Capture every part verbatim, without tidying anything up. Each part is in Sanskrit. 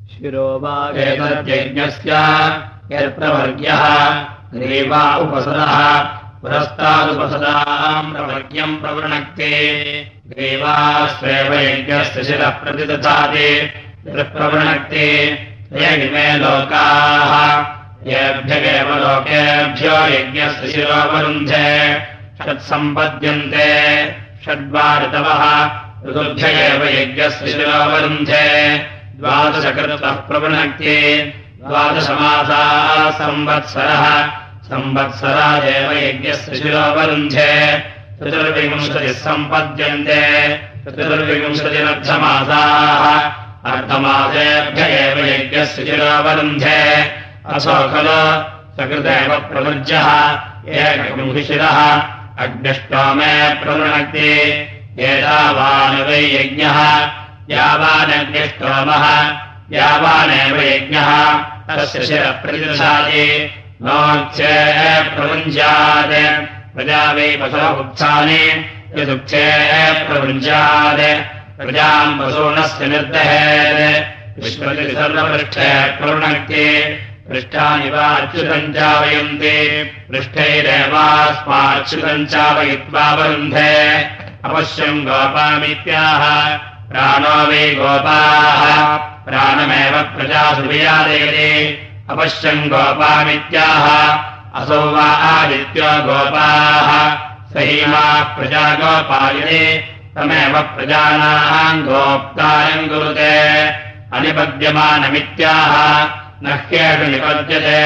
शिरोवागेतद्यज्ञस्य यत्प्रवर्ग्यः ग्रीवा उपसदः पुरस्तादुपसदाम् प्रवर्ग्यम् प्रवृणक्ते ग्रीवास्वेव यज्ञस्य शिरः प्रतिदधाति प्रवृणक्ते ये इमे लोकाः येभ्यगेव लोकेभ्यो यज्ञस्य शिरोवरुन्धे षट्सम्पद्यन्ते षड्वा ऋतवः ऋतुभ्य एव यज्ञस्य शिरोवरुन्धे द्वादशकृतः प्रवृणक्ते द्वादशमासाः संवत्सरः संवत्सरादेव यज्ञस्य शिरोवरुन्धे चतुर्विंशतिः सम्पद्यन्ते चतुर्विंशतिरर्धमासाः अर्धमासेभ्य एव यज्ञस्य शिरोवरुन्धे असो खलु सकृतेव प्रवृज्यः एकविंशिशिरः अग्निष्टोमे प्रवृणक्ति एतावान् वै यज्ञः यावानग्निष्टोमः यावानेव यज्ञः तस्य शिरः प्रतिदधाति नोच्चे प्रवृञ्जात् प्रजा वै पशो उत्सानि यदुच्चे प्रवृञ्जात् प्रजाम् पशूनस्य निर्दहेत् विश्वति सर्वपृष्ठे प्रवृणक्ति पृष्ठानि वा अच्युतम् चावयन्ति पृष्ठैरेवास्माच्युतम् चावयित्वा वरुन्धे अवश्यम् गोपामित्याह प्राणो वै गोपाः प्राणमेव प्रजासु वियादयति अवश्यम् गोपामित्याह असौ वा आदित्यो गोपाः सहीमा प्रजा गोपायति तमेव प्रजानाम् गोप्तारम् कुरुते अनिपद्यमानमित्याह न ह्येषु निपद्यते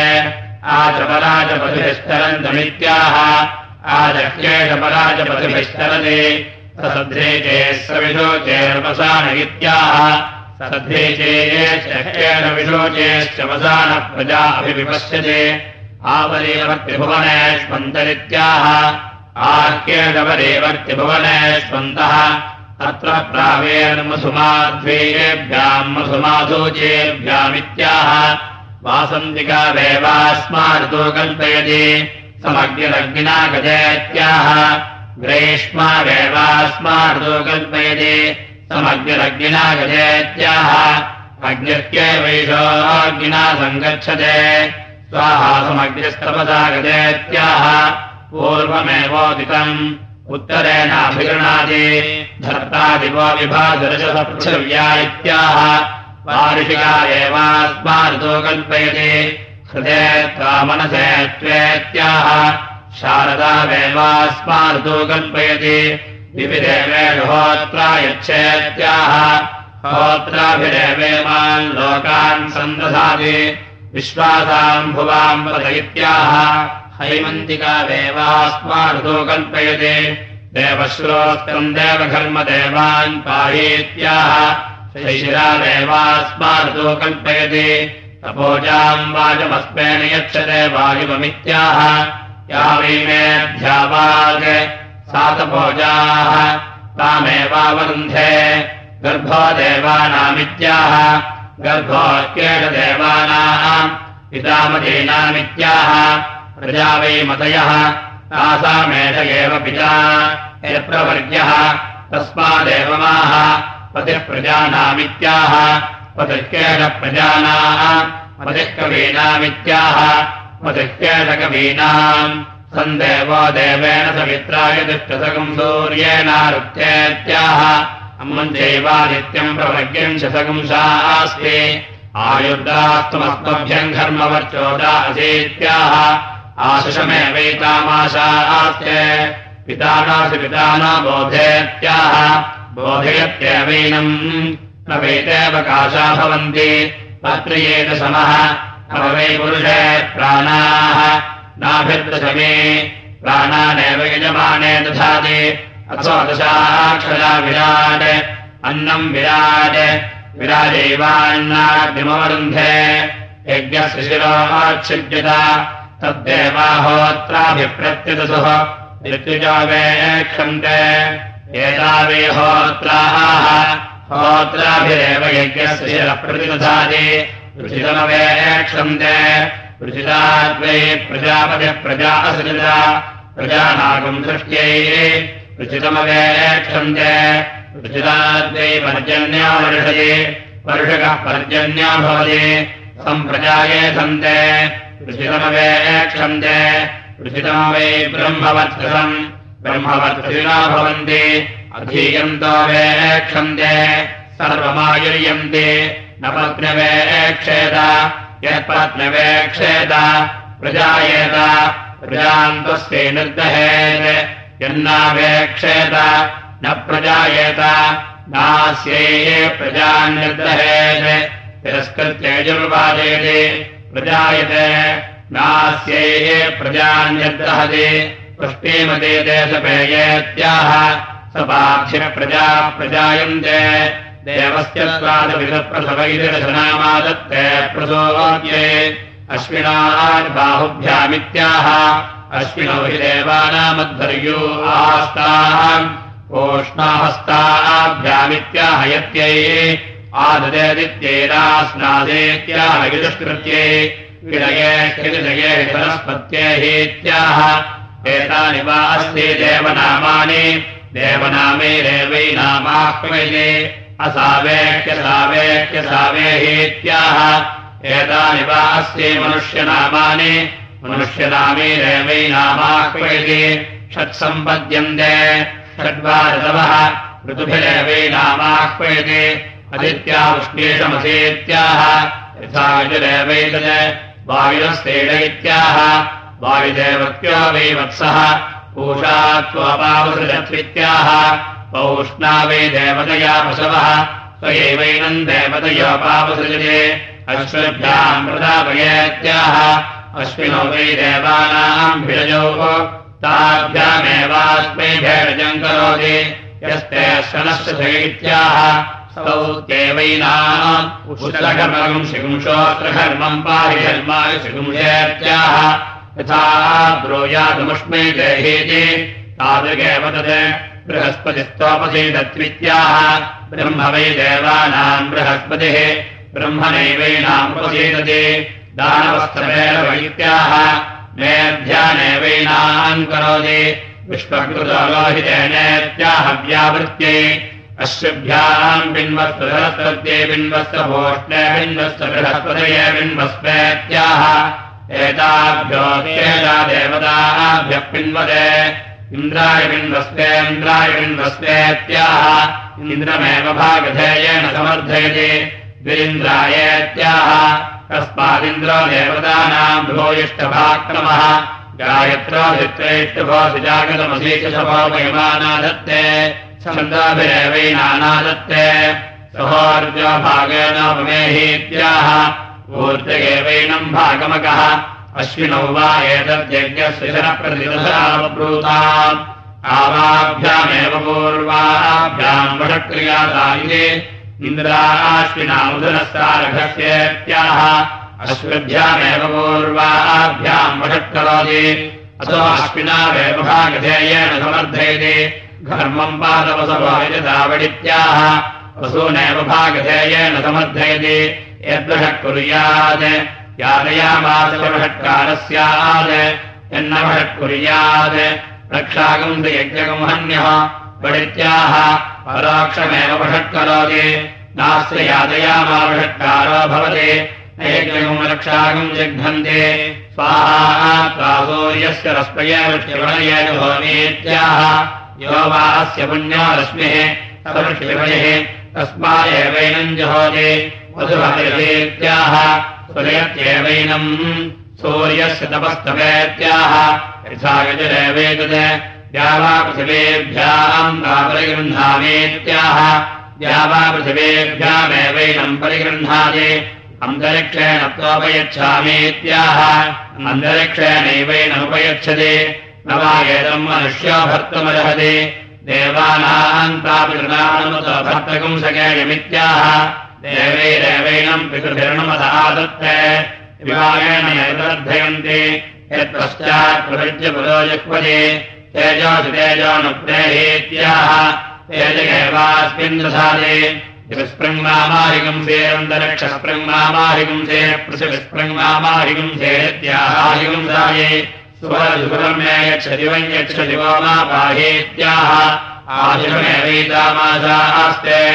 आचपराचपतिभिश्चरन्तमित्याह आचह्येषपराचपतिभिश्चरति सध्रेचे सविशोचेर्वसान इत्याह सध्रेचेश्चह्येण विशोचेश्च वसानः प्रजा अभिविपश्यते आवरेवर्त्यभुवनेष्वन्तरित्याह आह्येषवरेवर्त्यभुवनेष्वन्तः अत्र प्रावेर्मसुमाध्वेयेभ्याम् मसुमाधूचेभ्यामित्याह वासन्तिकावेवास्मार्तो कल्पयति समग्निरग्निना गजेत्याह ग्रेष्मावेवास्मार्तो कल्पयति समग्निरग्निना गजेत्याह अग्निर्त्येवैषोऽग्निना सङ्गच्छते स्वाहा समग्निस्तपसा गजेत्याह पूर्वमेवोदितम् उत्तरेणाभिगृणाति धर्तादिवो विभासरजसः पृथिव्या इत्याह वार्षिका एवास्मार्तो कल्पयति हृदे त्वा मनसे त्वेत्याह शारदावेवास्मार्तो कल्पयति विविदेवेषु होत्रा यच्छेत्याह होत्राभिरेवेमान् लोकान् सन्दधाति विश्वासाम् भुवाम् पद इत्याह हैमन्तिकावेवास्मार्तो कल्पयति देवश्रोत्रम् देवघर्मदेवान् पाहीत्याह शैशिरादेवास्मार्तो कल्पयति तपोजाम् वाजमस्मेन यच्छते वायुवमित्याह या वै मेऽध्यावाक् सा तपोजाः तामेवावरुन्धे गर्भो देवानामित्याह गर्भोऽक्येषदेवानाम् पितामदीनामित्याह प्रजा वै मतयः तासामेष एव पिता यत्प्रवर्ग्यः तस्मादेवमाह पतिः प्रजानामित्याह पतिःकेशप्रजानाम् पतिः कवीनामित्याह पतिःकेशकवीनाम् सन्देवो देवेन सवित्राय तिष्ठसकम् सूर्येणारुक्तेत्याह अम्मञ्चैवादित्यम् प्रवर्ग्यम् शतकंशास्ति आयुर्दास्तमस्मभ्यम् घर्मवर्चोदा असीत्याह आशिषमेवैतामाशास्ते पितानासि पिताना बोधेत्याह बोधयत्येवैनम् न वैतेवकाशा भवन्ति पत्रियेत समः अवै पुरुषे प्राणाः नाभिर्दशमे प्राणानेव यजमाने दधाति अथो दशाक्षरा विराट् अन्नम् विराट् विराजैवान्नाग्निमवरुन्धे यज्ञस्य शिरोच्छिद्यत तद्देवाहोत्राभिप्रत्यदसुः ऋत्विजो वेक्षन्ते एतावे होत्राः होत्राभिरेव यज्ञस्य शिरः प्रतिदधाति ऋषितमवेक्षन्ते ऋषिताद्वै प्रजापतिः प्रजा असृजत प्रजानागम् सृष्ट्यै ऋषितमवेक्षन्ते ऋषिताद्वै पर्जन्यो वर्षति वर्षकः पर्जन्यो भवति सम्प्रजाये सन्ते ऋषितमवेक्षन्ते ऋषितम् वै ब्रह्मवत्सम् ब्रह्मवत्सिनो भवन्ति अधीयन्तो वेक्षन्ते सर्वमायुर्यन्ति न पत्न्यवेक्षेत यत्पत्न्यवेक्षेत प्रजायेत प्रजान्तस्यै निर्दहेत् यन्नावेक्षेत न प्रजायेत नास्यै प्रजान्निर्दहेत् तिरस्कृत्य यजुर्वादेति प्रजायते नास्यै प्रजान्निर्दहति पुष्टिमतीते सपेयेत्याह सपाक्षिप्रजा प्रजायन्ते देवस्य स्वादविदप्रसव इति रचनामादत्ते प्रसोच्ये अश्विनार्बाहुभ्यामित्याह अश्विनौ हि देवानामध्वर्यो आस्ताम् ओष्णाहस्ताभ्यामित्याह यत्यै आददेदित्यैरास्नादेत्याह युजुष्कृत्यै विडये हिदये वनस्पत्यैहीत्याह एतानि वा अस्ति देवनामानि देवनामैरेवैनामाह्वैते असावेक्यसावेक्यसावेहीत्याह एतानि वा अस्ति मनुष्यनामानि मनुष्यनामैरेवैनामाह्वैते षट्सम्पद्यन्ते षड्वा ऋतवः ऋतुभिरेवैनामाह्वैते अदित्या उष्णीषमसीत्याह यथा यजुरेवैतत् वायुरस्तेन इत्याह वायुदेवत्यो वै वत्सः पूषा त्वपावसृजत्वित्याह पौष्णा वै देवतया पशवः स्वयैवैनम् देवतयोपावसृजते अश्वभ्याम् प्रदापयेत्याह अश्विनो वै देवानाम् भिरजोः ताभ्यामेवास्मै भेडजम् करोति यस्ते अश्वनश्च इत्याह स्तौत्येवैनाम् उष्णघर्मम् शिगुंशोऽत्रघर्मम् पाहि धर्माय शिगुंशेत्याह यथा ब्रूयादमुष्मै देहीति तादृगेव तत् बृहस्पतिस्त्वपसीदत्वित्याह ब्रह्म वै देवानाम् बृहस्पतिः ब्रह्मणैवैनामुपसीदति दानवस्थमेव मेऽध्यानेवैनाम् करोति विश्वकृतो लोहितेनेत्याह व्यावृत्यै अश्वभ्याम् बिन्वस्तु सरस्वत्यै बिन्वस्तु भोष्णे बिन्वस्तु बृहस्पतये बिन्वस्मेत्याह एताभ्यो तेजा देवताभ्यः पिन्वते इन्द्राय बिन्वस्तेन्द्राय बिन्वस्तेत्याह इन्द्रमेव भागधेयेन समर्थयति द्विरिन्द्रायेत्याह तस्मादिन्द्रो देवतानाम् भूयिष्ठभाक्रमः गायत्रो धित्रैष्टभो सुजागतमसीचशभोपयमानादत्ते छन्दोभिरेवैनानादत्ते सहोर्जो भागेन उपमेहीत्याह ऊर्जगेवैनम् भागमकः अश्विनौ वा एतद्यज्ञस्य शरप्रतिदशावब्रूताम् आवाभ्यामेव पूर्वाभ्याम् वषक्रियादायिने इन्द्राश्विनामुदनस्तारघस्येत्याह अश्वभ्यामेव पूर्वाभ्याम् वषट्करोति अतो अश्विनावेव भागधेयेन समर्थयति घर्मम् पादवसवो यजदावडित्याह वसूनेव भागधेयेन समर्थयति यद्वषः कुर्यात् यादयामास वषट्कारः स्यात् यन्न वषट् कुर्यात् रक्षागम् यज्ञगम् हन्यः वडित्याह परोक्षमेव वषट्करोति नास्य यादयामा वषट्कारो भवति न यज्ञगम् रक्षागम् जिघ्नन्ति स्वाहा सूर्यस्य रश्मये वृष्टिवणयेन भवमीत्याह यो वा अस्य पुण्यो रश्मिः स वृष्टिवणिः तस्मादेवैनम् जहोति वधुभवेत्याह सुरयत्येवैनम् सूर्यस्य तपस्तवेत्याह यथा यजुरेवेतत् द्यावा पृथिवेभ्याम् परिगृह्णामीत्याह द्यावा पृथिवेभ्यामेवैनम् परिगृह्णाति अन्तरिक्षेण त्वोपयच्छामीत्याह अन्तरिक्षेणैवैनमुपयच्छति न वा एतम् मनुष्यो भर्तुमर्हति देवानाम् तापितृणानुमतो भर्तकम् सकेयमित्याह देवैरेवैनम् पितृभिर्णुमदादत्ते विवाहेन यदर्थयन्ति यत्पश्चात् प्रविज्य पुरो जुह्वति तेजोऽसि तेजोऽनुप्रेहीत्याह तेजगेवास्मिन् दधाति विस्पृङ्मामाहिगुंसेरन्तरिक्षस्पृङ्मामाहिगुंसे पृथिविस्पृङ्मामाहिगुंसे इत्याहाहिगुंसाये सुवरजुगुरम् मे यच्छति वै यच्छति वो मा पाहीत्याह आशिषमेवैतामासास्ते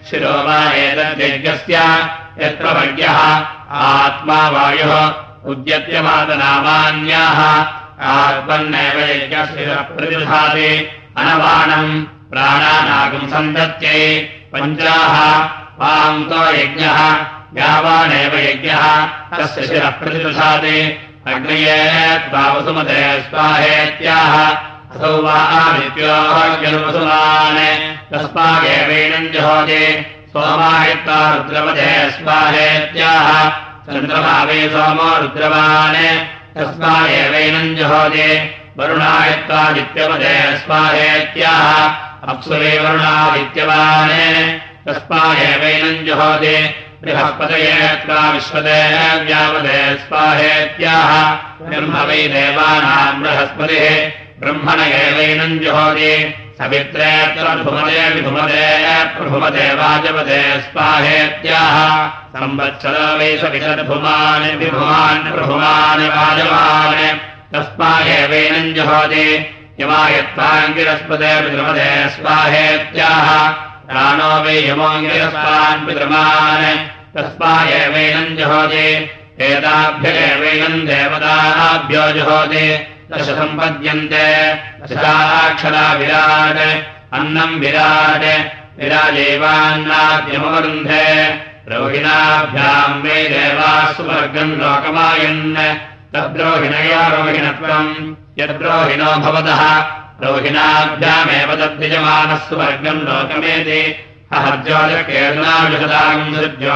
शिरो वा एतद्यज्ञस्य यत्र वर्ग्यः आत्मा वायुः उद्यत्यमादनामान्याः आत्मन्नेव यज्ञस्य प्रतिदधाति अनवाणम् प्राणानागम् सन्दत्यै पञ्चाः पान्तो यज्ञः यावानेव यज्ञः तस्य शिरः प्रतिदधाति अग्नये त्वावसुमते स्वाहेत्याह असौ वा आदित्योऽग्निर्वसुमान् तस्मादेवैनम् जहोति सोमायत्वा रुद्रवते स्वाहेत्याह चन्द्रमा वै सोमो रुद्रवान् तस्मादेवैनम् जहोति वरुणायत्वादित्यवते स्वाहेत्याह अप्सु वै वरुणादित्यवान् तस्मादेवैनम् जहोति बृहस्पतये त्वा विश्वते व्यावते स्वाहेत्याह ब्रह्म वै देवानाम् बृहस्पतिः ब्रह्मण एवैनम् जुहोति सवित्रे प्रभुमते विभुमते प्रभुमते वाजवते स्वाहेत्याह संवत्सरो वै सवितर्भुमान् विभुमान् प्रभुमान् वाजवान् तस्मादेवैनम् जुहोति यमायत्वाङ्गिरस्पते विद्रुमते स्वाहेत्याह प्राणो वै यमोऽङ्गिरस्वान् पितृमान् तस्मादेवैनम् जुहोति एताभ्य एवैनम् देवताभ्यो जुहोति दश सम्पद्यन्ते दशाक्षरा विराट् अन्नम् विराट् विराजेवान्नाद्यमवरुन्धे रोहिणाभ्याम् वै देवाः सुवर्गम् लोकमायन् तद्रोहिणया रोहिणत्वम् यद्रोहिणो भवतः रोहिणाभ्यामेव तद्यजमानः सुवर्गम् लोकमेति अहर्ज्योतिर्केर्नाविषदागम्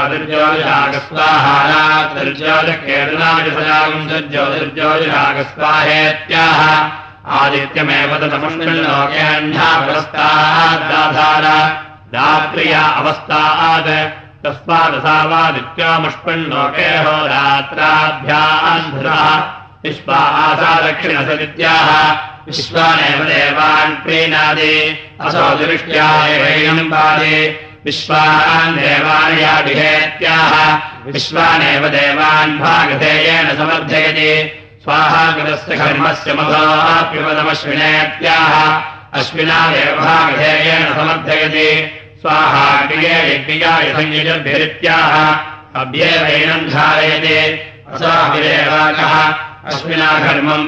दुर्ज्योतिर्ज्योतिषागस्वाहारात्रिर्ज्योतिर्केर्नाविषदागम् दुर्ज्योतिर्ज्योतिषागस्वाहेत्याह आदित्यमेव तदमुष्मिल्लोकेऽह्नावस्तादाधार रात्र्या अवस्थात् तस्मादसावादित्योमुष्मिल्लोके होरात्राभ्याम् धृतः विश्वा आसा दक्षिणसदित्याः विश्वानेव देवान् प्रीणादि असो दृष्ट्या एवैनम् पादि विश्वान् देवान् याभिहेत्याह विश्वानेव देवान् भागधेयेन समर्थयति स्वाहाकृतस्य कर्मस्य मधोऽप्युपदमश्विनेत्याह अश्विनादेव भागधेयेन समर्थयति स्वाहाग्निये यज्ञियाय संयुजद्भिरित्याह अभ्येवैनम् धारयति असोऽभिरेवाकः अश्विना घर्मम्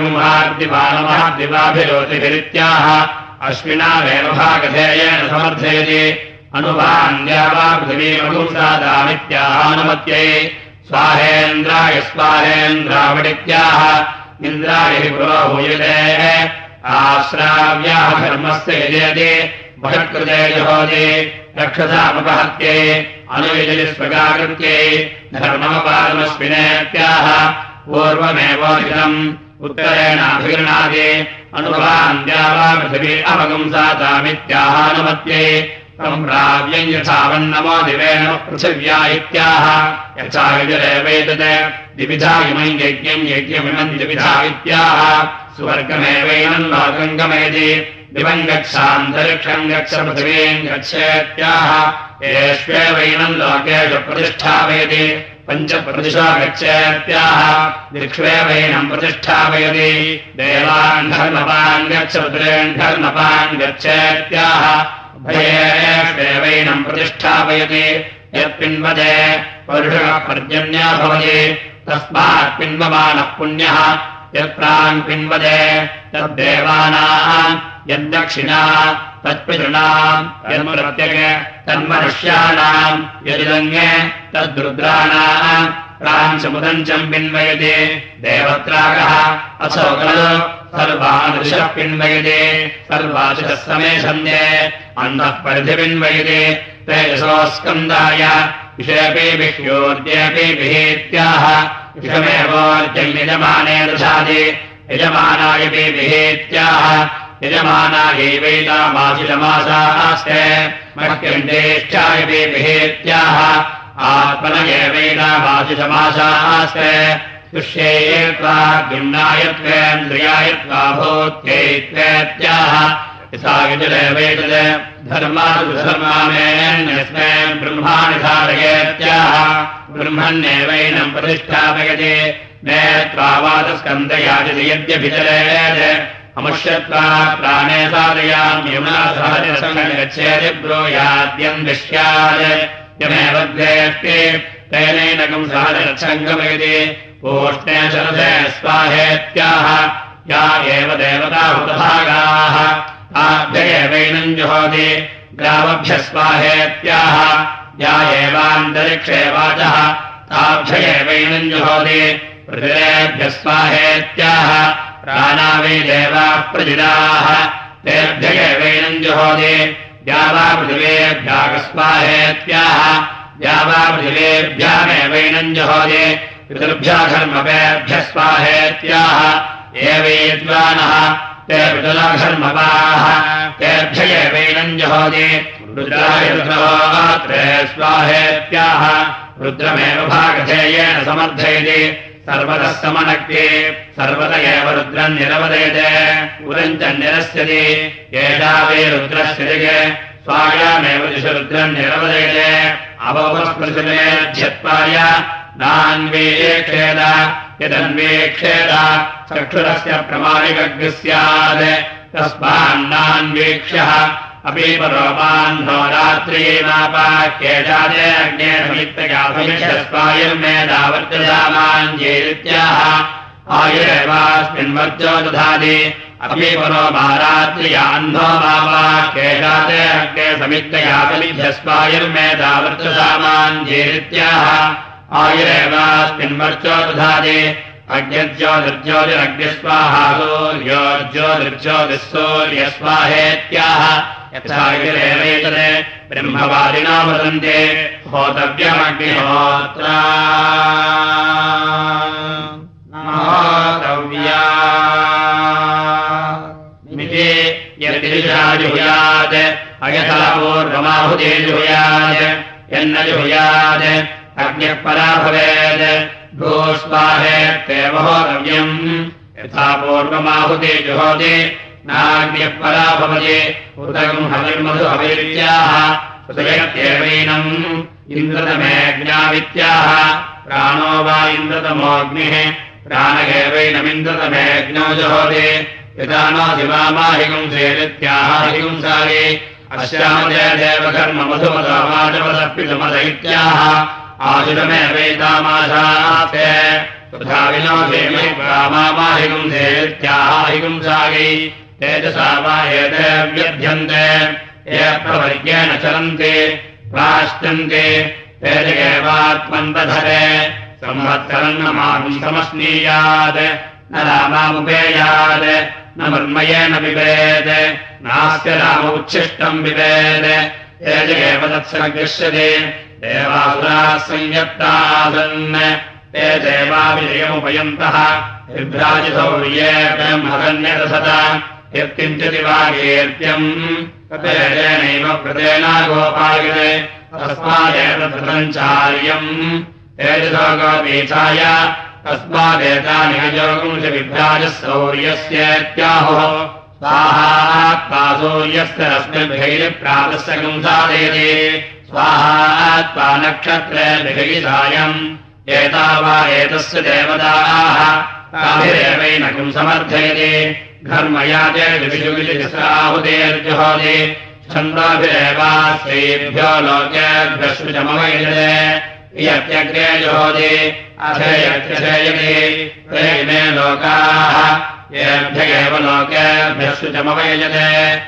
पादगुम्हार्दिवानमहाद्दिवाभिरोतिभिरित्याह अश्विनावेव भागधेयेन समर्थयति अनुवान्द्या वा पृथिवीमगुंसादामित्याहानुमत्यै स्वाहेन्द्राय स्वाहेन्द्रावडित्याह इन्द्राय पुरोहूयते आश्राव्याः धर्मस्य यजयति बहिष्कृते जुहोति रक्षसामुपहत्यै अनुयजति स्वगाकृत्यै धर्ममपादमश्विनेत्याह पूर्वमेवोदितम् उत्तरेणाभिगृणादि अनुवान्द्या वा पृथिवी अवगुंसातामित्याहानुमत्यै सम्प्राव्यम् यथावन्नमो दिवेन पृथिव्या इत्याह यथा विजरेवैतत् द्विविधा इमम् यज्ञम् यज्ञमिमम् द्विविधा इत्याह स्वर्गमेवैनम् लोकम् गमेति दिवम् गच्छान्तरिक्षम् गच्छ पृथिवीम् गच्छेत्याह येष्वेवैनम् लोकेषु प्रतिष्ठापयति पञ्चप्रतिशो गच्छेत्याह दिक्ष्वेवैनम् प्रतिष्ठापयति देवान् धर्मपान् गच्छ रुद्रेन् धर्मपान् गच्छेत्याह भयेष्वेवैनम् प्रतिष्ठापयति यत्पिन्वदे परुषः पर्जन्यो भवति तस्मात् पिन्वमानः पुण्यः यत्रान् पिन्वदे तद्देवानाम् यद्दक्षिणा तत्पितॄणाम् यन्प्रत्यग तन्मनुष्याणाम् यदिदङ्गे तद्रुद्राणाम् प्राञ्चमुदञ्चम् पिन्वयति देवत्रागः असौ खलु सर्वादृशः पिन्वयति सर्वादृशः समेषन्ये अन्धः परिधिपिन्वयति तेजसोऽस्कन्दाय विषयपि विह्योर्जेऽपि विहेत्याह विषमेवोर्जम् यजमाने दधाति यजमानायपि विहेत्याह यजमानायैवैतामाशिषमासास्ते मह्यण्डेष्ठायपि विहेत्याह आत्मन एवैतामाशिषमासास्ते तुष्येत्वा भिन्नायत्वेन्द्रियायत्वा भूत्यैत्वेत्याह यथा विजुरेवैतत् धर्मानुधर्मामेऽन्यस्मै ब्रह्माणि धारयेत्याह ब्रह्मण्येवैनम् प्रतिष्ठापयति नेत्वावादस्कन्धयाजति यद्यभिचरेत् अमुष्यत्वा प्राणे साधयामि यमुना सहजरसं गच्छेति ब्रूयाद्यं दृश्यात् यमेव द्वेष्टे तेनैनकं सहजरसं गमयति पूष्णे शरसे स्वाहेत्याह या एव देवता हुतभागाः ताभ्येवैनं जुहोति ग्रामभ्यस्वाहेत्याह या एवान्तरिक्षे वाचः ताभ्येवैनं जुहोति पृथिवेभ्यस्वाहेत्याह प्राणावै देवाः प्रजिताः तेभ्येवैनं जुहोति या वा पृथिवेभ्यागस्वाहेत्याह या वा पृथिवेभ्यामेवैनं जुहोति पितृभ्यः स्वाहेत्याह ये विद्वानः ते पितुलघर्मपाः तेभ्येवैनं जुहोति रुद्राय रुद्रोत्रे स्वाहेत्याह रुद्रमेव भागधेयेन समर्थयति सर्वतः समनक्ति सर्वत एव रुद्रम् निरवदयते उरम् च निरस्यति एषा वै रुद्रस्य दिगे स्वायामेव दिशु रुद्रम् निरवदयते अवपस्पृशिमेध्यत्वाय नान्वीक्षेद यदन्वीक्षेद चक्षुरस्य प्रमाणिकग्निः स्यात् तस्मान्नान्वीक्ष्यः अपि परोपान्नो रात्रियैमापाह्येषादे अग्ने समित्तगासमिष्यस्वायुर्मेधावर्तसामाञ्जेरित्याह आयुरेवास्मिन् वर्जो दधाति अपि परो महारात्रियान्नो मापाह्येषादे अग्ने समित्तगासमिष्यस्वायुर्मेधावर्तसामाञ्जेरित्याह आयुरेवास्मिन् वर्जो दधाति अग्निर्ज्योतिर्ज्योतिरग्निस्वाहा सूर्योर्ज्योतिर्ज्योतिःसूर्यस्वाहेत्याह यथा गिरेवैतते ब्रह्मवादिनो वदन्ते होतव्यमग्निहोत्रा होतव्या मिति यद्दिशा जुहुयात् अयथा पूर्वमाहुते जुहुयात् यन्न जुहुयात् अग्निः परा भवेत् भूस्वाहेत्येव होतव्यम् यथा पूर्वमाहुते जुहोति नाग्निः परा भवति उदकम् हविर्मधु हविर्याः सुतयत्येवैनम् इन्द्रतमेऽग्न्यावित्याह प्राणो वा इन्द्रतमोऽग्निः प्राण एवैनमिन्द्रतमेऽग्नौ जुहोति यथा नो शिवामाहिगुंसेरित्याह हिगुंसारि अस्यामते देवकर्ममधुमधमाचमदप्पितुमद इत्याह आशुरमेवैतामाशास्ते तथा विनोदेमि रामामाहिगुंसेरित्याह हिगुंसारि तेजसा वा एते व्यध्यन्ते ये प्रवर्गेण चलन्ति प्राश्चन्ति तेजगेवात्मन्तधरे संवत्सरन्नमानं समस्नीयात् न रामामुपेयात् न मर्मयेन पिबेत् नास्य राम उच्छिष्टम् पिबेत् तेजगेव तत्सङ्गृह्यते देवासुराः संयत्तासन् ते देवाविजयमुपयन्तः विभ्राजितौर्ये ब्रह्मकन्यदसत यत्किञ्चिति वा कीर्त्यम् ततेनैव कृतेनागोपायते तस्मादेतत्सञ्चार्यम् तेजसो गोपीठाय तस्मादेतानि अजोगुंश विभ्राजः सौर्यस्येत्याहुः स्वाहा सूर्यस्य रश्मिर्भिः गुंसादयति स्वाहा नक्षत्रेभिः सायम् एता वा एतस्य देवताः ताभिरेवैनकम् समर्थयति घर्मयाते विशुगिलिसाहुतेर्जुहोति छन्दोभिरेवास्त्रेभ्यो लोकेभ्यः शुचमवैजते यत्यग्रे जुहोति अथेयत्यथेयति ते इमे लोकाः येभ्य एव लोकेभ्यः शुचमवैजते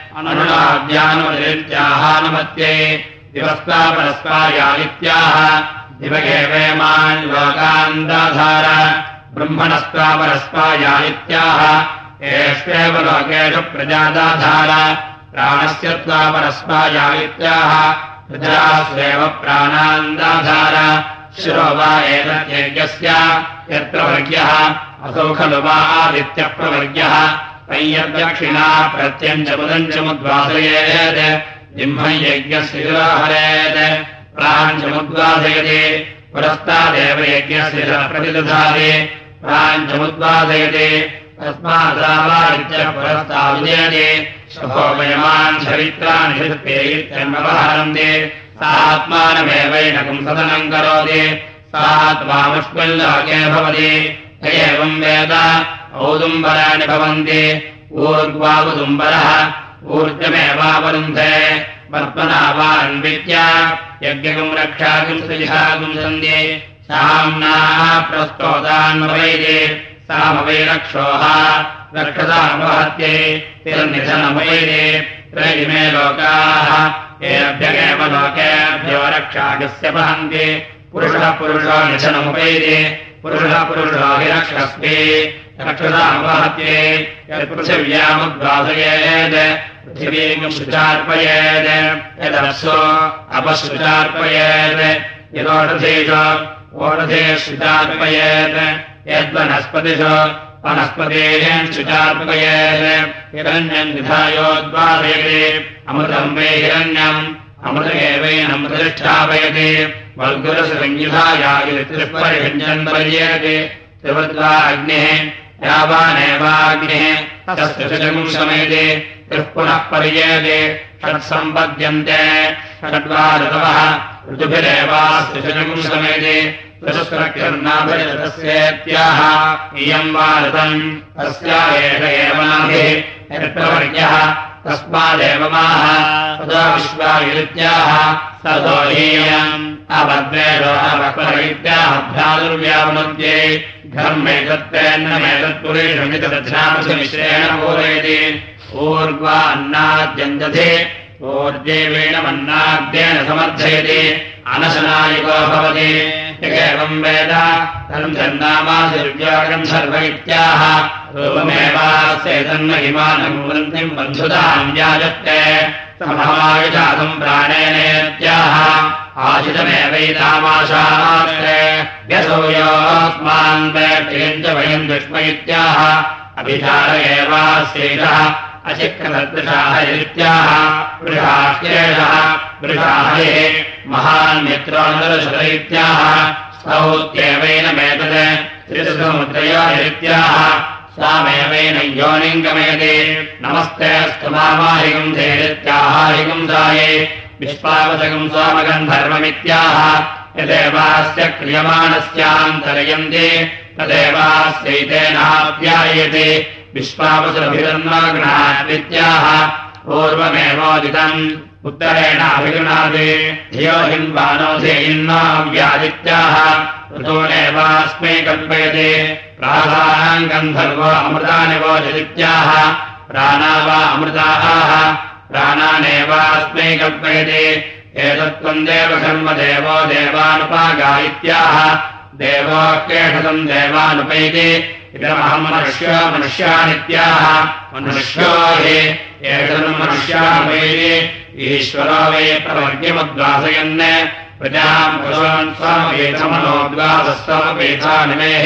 अनुनाद्यानुमतिरित्याहानुमत्यै दिवस्ता परस्पायानित्याह दिवगेवेमान् लोकान् दाधार ब्रह्मणस्त्वापरस्पायानित्याह एष्वेव लोकेषु प्रजादाधार प्राणस्य त्वापरस्पायानित्याह प्रजास्वेव प्राणान् दाधार शिरो वा एतद्यज्ञस्य यत्र वर्ग्यः असौ खलु वा आदित्यः प्रवर्ग्यः तय्यद्दक्षिणा प्रत्यञ्चमुदञ्चमुद्वासयेत् जिह्मं यज्ञस्य शिरोहरेत् प्राञ्चमुद्वासयति पुरस्तादेव यज्ञस्य प्रतिदधाति प्राञ्चमुद्वासयति तस्मादावादित्यः पुरस्ताविजयति शोभयमान् चरित्राणि शिल्पेत्यन्वहरन्ति सा आत्मानमेवैनकम् सदनम् करोति सा त्वामुष्मिल्लोके भवति य एवम् वेद औदुम्बराणि भवन्ति ऊर्ग्वावुदुम्बरः ऊर्जमेवावरुन्धे वर्त्मनावान्वित्य यज्ञकम् रक्षाकम् सुजिहाकम् सन्ध्ये साम्नाः प्रस्तोतान्वैदे सामवैरक्षोः रक्षसामवहत्ये तिर्निधनमवैदे त्रयिमे लोकाः येभ्यगेव लोकेभ्यो रक्षाकस्य वहन्ति पुरुषः पुरुषो निधनमुपैदे पुरुषः पुरुषो हि रक्षस्वे रक्षसामवहत्ये यत्पृथिव्यामुद्वासयेत् पृथिवीम् शुचार्पयेत् यदप्सो अपशुचार्पयेत् यदोषधेषु ओषधेषुचार्पयेत् यद्वनस्पतिषु वनस्पतेः शुचार्पयेत् हिरण्यम् निधायोद्वासयति अमृतम् वै हिरण्यम् अमृतमेवैनमृतष्ठापयति वल्गुरसंयुधायायुत्रिपरिभञ्जन् पर्येति त्रिवद्वा अग्निः यावानेवाग्निः तस्य शुचकम् शमेति त्रिः पुनः पर्येति षट्सम्पद्यन्ते षड्वा ऋतवः ऋतुभिरेवास्य शुचकम् शमेति ऋतुस्रक्यर्नाभिरतस्येत्याह इयम् वा ऋतम् तस्या एष एव नाभिः यत्प्रवर्ग्यः तस्मादेव माः तदा विश्वायुरित्याह ततो हीयम् अवद्वेषो अवक्वरैत्याह भ्रातुर्व्यावनन्त्ये घर्मेतत्तेन्नमेतत्पुरेषमिति तद्ध्यामसमिश्रेण पूरयति ऊर्ध्वा अन्नाद्यञ्जधे ऊर्जेवेणमन्नाद्येन समर्थयति अनशनायुगो भवति यगेवम् वेद तम् जन्नामादिर्व्यागम् सर्व इत्याह रूपमेवास्येतन्महिमानम् वृन्तिम् बन्धुताम् व्याजत्ते समहमायुषादम् प्राणेनेत्याह आशितमेवैतामाशास्त्रे व्यसोयोऽस्मान् वेट्यम् च वयम् दुष्म इत्याह अभिचार एवास्यैषः अचिक्रसदृशाः इत्याह वृषाह्येषः वृषाहये महान्मित्रोऽनरशत इत्याह स्तौत्येवैनमेतत् त्रिसमुद्रयोरित्याह सामेवैन योनिम् गमयति नमस्ते स्तुमामाहिकम् धेरित्याहाहिकम् साये विश्वावसकम् सोमगन्धर्वमित्याह यदेवास्य क्रियमाणस्यान्तरयन्ति तदेवास्यैतेनाप्यायते विश्वावसुरभिरन्वाग्नाद्वित्याह पूर्वमेवोदितम् उत्तरेणाभिगृणाति धियो हिन्वानो धेयिन्नाव्यादित्याह ऋतूनेवास्मै कल्पयते प्राणाम् गन्धर्वो अमृतानि वोचदित्याह प्राणा वा अमृताः प्राणानेवास्मै कल्पयते एतत्त्वम् देवधर्मदेवो देवानुपागा इत्याह देवो केषतम् देवानुपैति इदमहम् मनुष्यो मनुष्यानित्याह मनुष्यो हि एतम् मनुष्यानुपैति ईश्वरो वै प्रवर्ग्यमुद्वासयन् प्रजाम् पशून् स्वमवेधमनोद्वासस्वमवेधानिमेः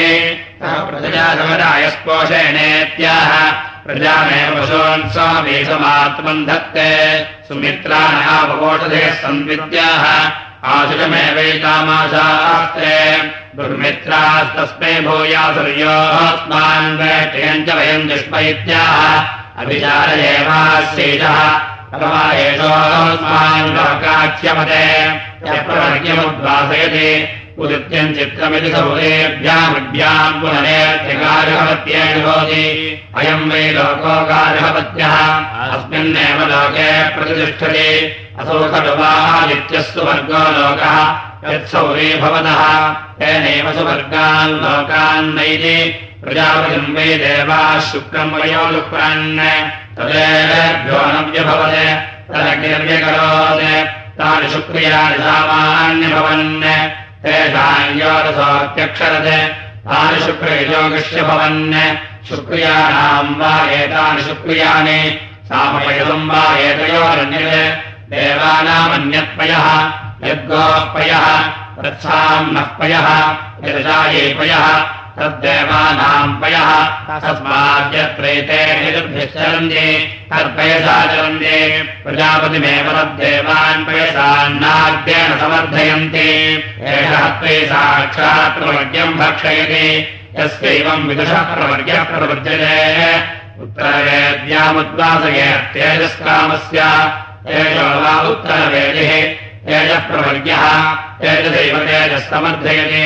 प्रजासमरायस्पोषेणेत्याह प्रजामेव पशून् स्वमवेधमात्मन् धत्ते सुमित्राणावकोषधेः सन्वित्याह आशुषमेवैतामाशास्त्रे दुर्मित्रास्तस्मै भूयासुर्योऽस्मान् वेट्यम् च वयम् दुष्म इत्याह अभिचार एवास्यैषः तमा एषोऽस्मान् लोकाख्यमते यप्रवर्ग्यमुद्वासयति उदित्यम् चित्रमिति सौरेभ्यामभ्याम् पुनरेत्यगार्हवत्येन भवति अयम् वै लोको गार्हवत्यः अस्मिन्नेव लोके प्रतिष्ठति असौ खलु वा आदित्यस्तु वर्गो लोकः यत्सौरे भवतः तेनैव सुवर्गान् लोकान् नैति प्रजापतिम् वै देवाः शुक्रम् वयो लुक्रन् तदेभ्यो नव्यभवत् तदग्निर्व्यकरोत् तानि शुक्रियाणि सामान्यभवन् तेषाम् योरसोऽत्यक्षरत् तानि शुक्रयोगस्य भवन् शुक्रियाणाम् वा एतानि शुक्रियाणि सामपयसम् वा एतयोरन्यत् देवानामन्यत्पयः यद्गोपयः तत्साम् नः पयः यदजायेपयः तद्देवानाम् पयः तस्माद्यत्रैते निरुभ्यश्चरन्ति तत्पयसा चरन्ति प्रजापतिमेव तद्देवान् पयसान्नाद्येन समर्थयन्ति एषः त्वयि साक्षात् प्रवर्ग्यम् भक्षयति यस्यैवम् विदुषः प्रवर्ग्यः प्रवर्ज्यते उत्तरवेद्यामुद्वासयेत् तेजस्कामस्य तेजो वा उत्तरवेदिः तेजः प्रवर्ग्यः तेजसैव तेजः समर्थयति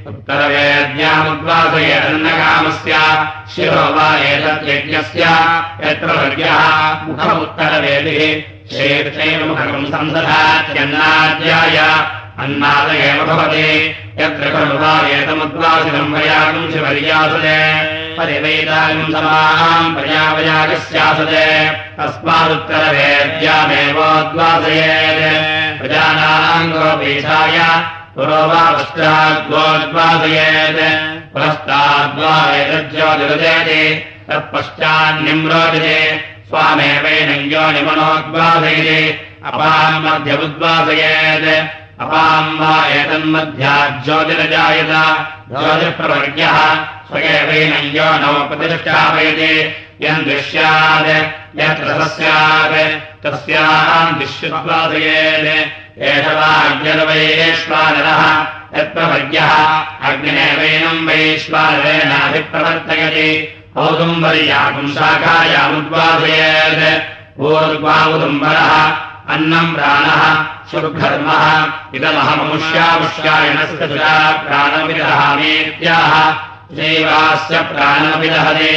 उत्तरवेद्यामुद्वासयेदन्नकामस्य शिरो वा एतद्यज्ञस्य यत्र वर्ग्यः मुखमुत्तरवेदिः शीर्षैव मुखम् संसदात्यन्नाद्याय अन्नाद एव भवति यत्र खलु वा एतमुद्वासितम् वयागम् शिवर्यासते परिवैदागम् समाम् प्रजावयागस्यासते तस्मादुत्तरवेद्यामेवोद्वासयेत् प्रजानाम् गोपीठाय पुरो वा पश्चाद्वोद्वासयेत् पुरस्ताद्वा एतज्योतिरुदेति तत्पश्चान्निम्रोदिते स्वामेवैनं योनिमनोद्वासयति अपाम् मध्यमुद्वासयेत् अपाम् वा एतन्मध्याज्योतिरजायत ज्योतिप्रवर्ग्यः स्वयेवैनं योनौ प्रतिष्ठापयति यम् दृश्यात् यत्र स्यात् तस्याम् दिश्युद्वासयेत् एष वा अग्निर्वैश्वानरः यत्प्रवर्ग्यः अग्निरेवैनं वैश्वानरेणाभिप्रवर्तयति औदुम्बर्यागुम् शाखायामुद्वासयेत् ऊर्ध्वामुदुम्बरः अन्नम् प्राणः सुर्घर्मः इदमहममुष्यामुष्यायणस्य सुरा प्राणमिदहामीत्याह शैवास्य प्राणमिदहते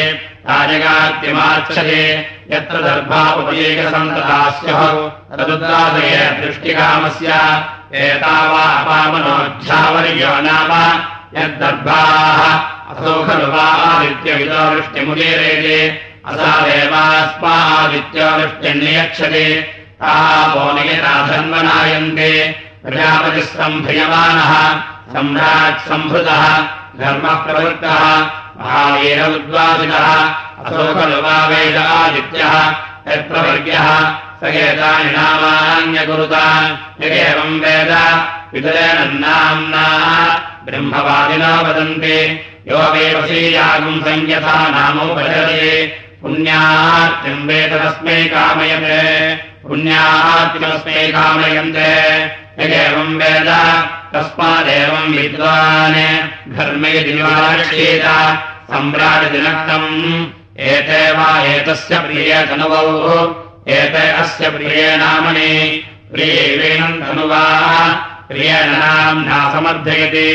राजगात्यमार्च्छते यत्र दर्भा उपयेकसन्ततास्यः तदुद्वासये दृष्टिकामस्य एतावा अपामनोऽध्यावर्यो नाम यद्दर्भाः असौ खलु वा आदित्यविदो वृष्टिमुदीरयति असा देवास्मादित्यो वृष्टिर्नियच्छति तापो नियताधन्वनायन्ते प्रजापतिः सम्भ्रियमाणः सम्राट् सम्भृतः धर्मः प्रवृत्तः महावीर उद्वासितः असौ खलु वा वेद आदित्यः यत्प्रवर्ग्यः स एतानि नामान्यकुरुता यदेवम् वेद विदुरेण नाम्ना ब्रह्मवादिनो वदन्ति यो वेवशीयागुम् संयथा नामोपचरति पुण्यार्तिम् वेद तस्मै कामयते पुण्यार्तिमस्मै कामयन्ते यदेवम् वेद तस्मादेवम् विद्वान् घर्मयदिवारक्षेत सम्राजदिनक्तम् एते वा एतस्य प्रिये धनुवौ एते अस्य प्रिये नामनि प्रियैवेनम् धनुवा प्रियेण नाम्ना समर्थयति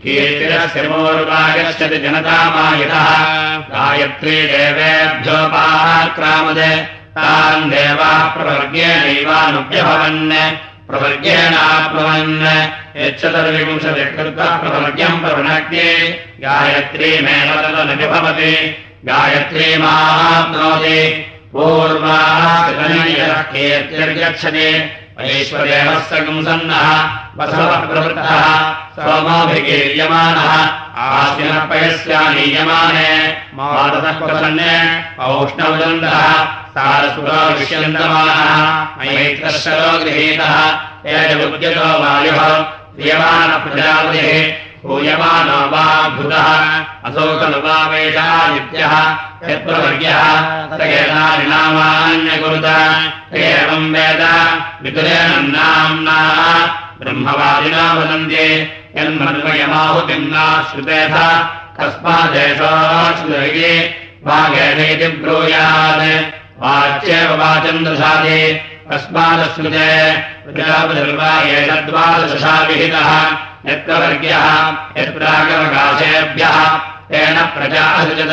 कीर्तिरस्यमोरुपागच्छति जनतामायतः गायत्री देवेभ्योपाक्रामदे तान् देवाः प्रवर्ग्येणैवानुभ्यभवन् प्रवर्ग्येणाप्नुवन् यच्चतुर्विंशतिकृत्वा प्रवर्ग्यम् प्रवृणक्ते गायत्रीमेव तदनुभवति गायत्रीमाप्नोति पूर्वाः कीर्तिर्गच्छति वैश्वदेवः सगुंसन्नः वसवः प्रवृत्तः सोमोऽभिगीर्यमानः आश्विनः पयस्यानीयमाने माततः प्रसन्ने औष्णवदन्तः सारसुरो विष्यन्तमानः मैत्रशरो गृहीतः तेजमुद्यतो वायुः प्रियमानः प्रजापतिः भूयमानो वा भूतः असौ खलु वा वेदादित्यः यत्प्रवर्ग्यः स एतानि नामान्यकुरुत एवम् वेद विदुरेण नाम्ना ब्रह्मवादिनो वदन्ति यन्मन्वयमाहुतिम् नाश्रुतेथ कस्मादेशोऽश्रुते वागेणेति ब्रूयात् वाच्येव वाचम् दधाति कस्मादश्रुते प्रजापतिर्वा एतद्वादशा विहितः यत्प्रवर्ग्यः यत्प्रागवकाशेभ्यः तेन प्रजा असृजत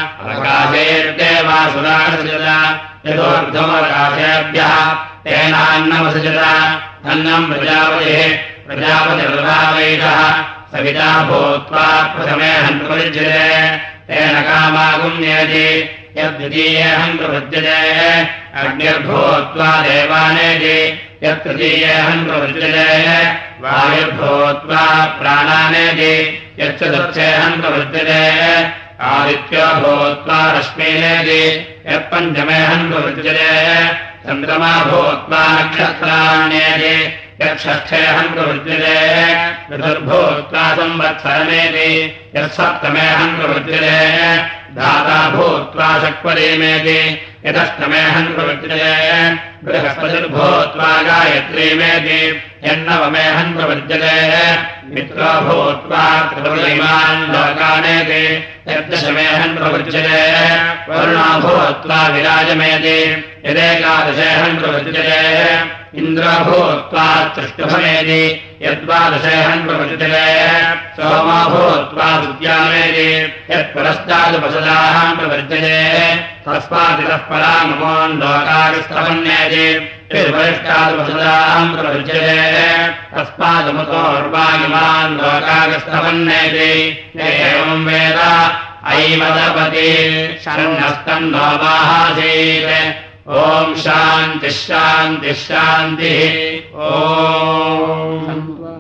अवकाशेर्देवासुरासृजत यतोऽर्धमवकाशेभ्यः तेनान्नमसृजत अन्नम् प्रजापतिः प्रजापतिर्वावैषः सविता भूत्वा प्रथमे हन्तुपरिज्यते तेन कामागुम्येति यद्वितीयेऽहम् प्रवृज्यते अग्निर्भूत्वा देवानेति यत्तृतीयेऽहम् प्रवृज्यते वायुर्भूत्वा प्राणानेति यच्चतुर्थेऽहम् प्रवृज्यते आदित्यो भूत्वा रश्मीनेति यत्पञ्चमेऽहम् प्रवृज्यते चन्द्रमा भूत्वा नक्षत्राण्येति यत्षष्ठेऽहम् प्रवृज्यते ऋतुर्भूत्वा संवत्सरमेति यत्सप्तमेऽहम् प्रवृज्यते धाता भूत्वा शक्वरीमेति यदष्टमेऽहम् प्रवृज्यते बृहस्पतिर्भूत्वा गायत्रीमेति यन्नवमेऽहम् प्रवृज्यते मित्रो भूत्वा त्रिपुरीमान् लोकानेति यद्दशमेऽहम् प्रवृज्यते वरुणो भूत्वा विराजमेति यदेकादशेऽहम् प्रवृज्यते इन्द्रो भूत्वा तृष्टुभमेति यद्वादशेऽहम् प्रवृज्यते सोमो भूत्वा विद्यामेति यत्पुरस्तादुपसदाहम् प्रवृज्यते तस्मादितः पराममोन् लोकागस्तमन्येति यद्वरिष्ठादुपसदाहम् प्रवृज्यते तस्मादमुतोर्वायुमान् लोकागस्तमन्येति एवम् वेद ऐमदपति शरणस्तम् नो माहासीत् ॐ शान्तिः शान्तिः शान्तिः ॐ